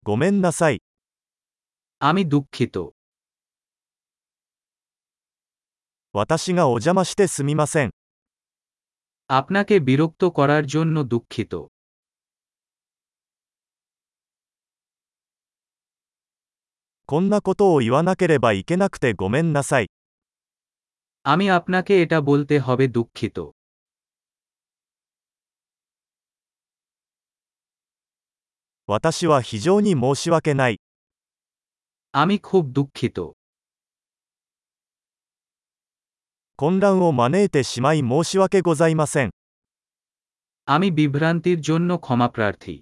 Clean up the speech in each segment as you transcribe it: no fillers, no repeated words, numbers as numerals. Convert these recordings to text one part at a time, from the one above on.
ごめんなさい。 আমি দুঃখিত। 私がお邪魔してすみません。 আপনাকে বিরক্ত করার জন্য দুঃখিত। こんなことを言わなければいけなくてごめんなさい。 আমি আপনাকে এটা বলতে হবে দুঃখিত। 私は非常に申し訳ない。 আমি খুব দুঃখিত। 混乱を招いてしまい申し訳ございません。 আমি বিভ্রান্তির জন্য ক্ষমাপ্রার্থী।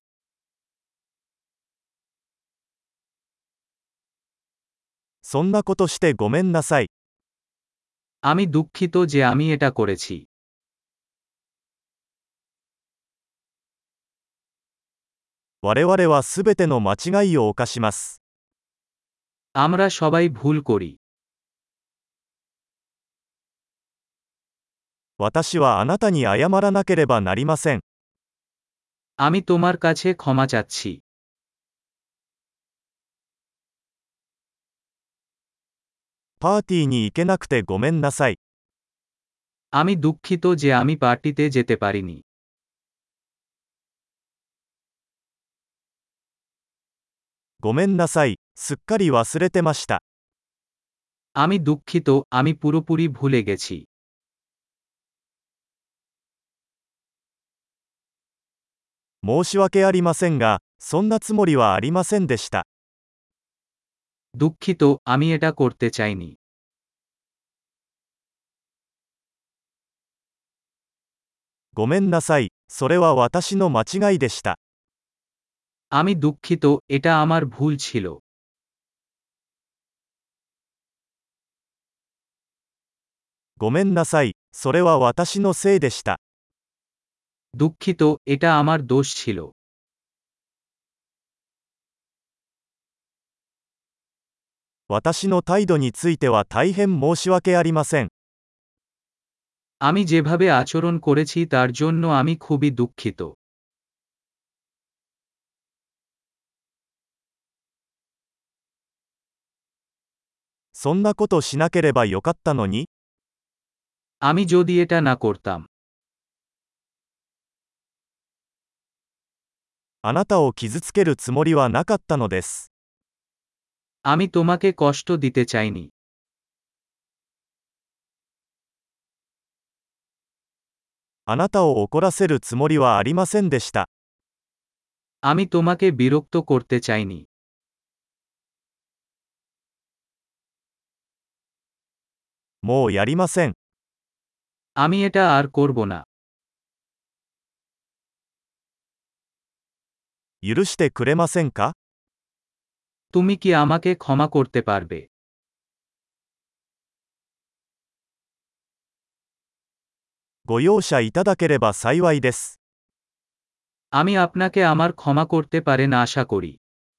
そんなことしてごめんなさい。 আমি দুঃখিত যে আমি এটা করেছি। 我々はすべての間違いを犯します。 আমরা সবাই ভুল করি। 私はあなたに謝らなければなりません。 আমি তোমার কাছে ক্ষমা চাচ্ছি। パーティーに行けなくてごめんなさい。 আমি দুঃখিত যে আমি পার্টিতে যেতে পারিনি। ごめんなさい。すっかり忘れてました。 আমি দুঃখিত, আমি পুরোপুরি ভুলে গেছি। 申し訳ありませんが、そんなつもりはありませんでした。 দুঃখিত, আমি এটা করতে চাইনি। ごめんなさい。それは私の間違いでした。 আমি দুঃখিত, এটা আমার ভুল ছিল। ごめんなさい。それは私のせいでした。 দুঃখিত, এটা আমার দোষ ছিল। 私の態度については大変申し訳ありません。 আমি যেভাবে আচরণ করেছি তার জন্য আমি খুবই দুঃখিত। そんなことしなければよかったのに。 আমি যদি এটা না করতাম। あなたを傷つけるつもりはなかったのです。 আমি তোমাকে কষ্ট দিতে চাইনি। あなたを怒らせるつもりはありませんでした。 আমি তোমাকে বিরক্ত করতে চাইনি। もうやりません。 আমি এটা আর করব না। 許してくれませんか？ তুমি কি আমাকে ক্ষমা করতে পারবে? ご容赦いただければ幸いです。 আমি আপনাকে আমার ক্ষমা করতে পারেন আশা করি।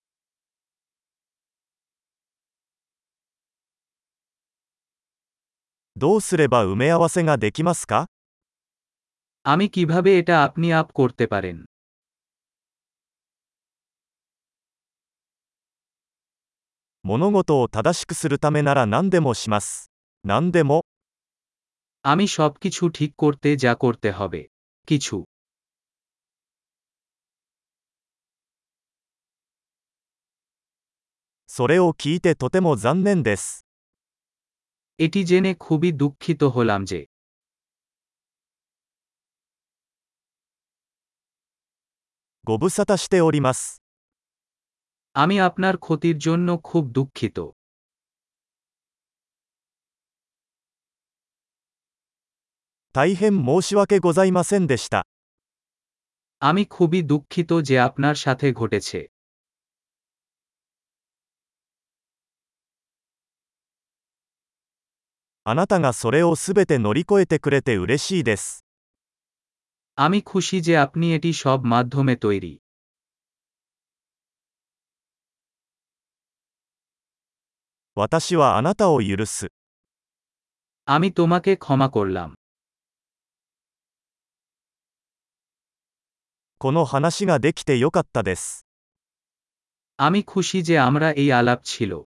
どうすれば埋め合わせができますか？ আমি কিভাবে এটা আপনি আপ করতে পারেন? 物事を正しくするためなら何でもします。何でも。 আমি সবকিছু ঠিক করতে যা করতে হবে। কিছু। それを聞いてとても残念です。 এটি জেনে খুবই দুঃখিত হলাম যে। ご無沙汰しております。 আমি আপনার ক্ষতির জন্য খুব দুঃখিত। 大変申し訳ございませんでした。 আমি খুবই দুঃখিত যে আপনার সাথে ঘটেছে। あなたがそれをすべて乗り越えてくれて嬉しいです。 আমি খুশি যে আপনি এটি সব মাধ্যমে তৈরি। 私はあなたを許す。 আমি তোমাকে ক্ষমা করলাম। この話ができてよかったです。 আমি খুশি যে আমরা এই আলাপ ছিল।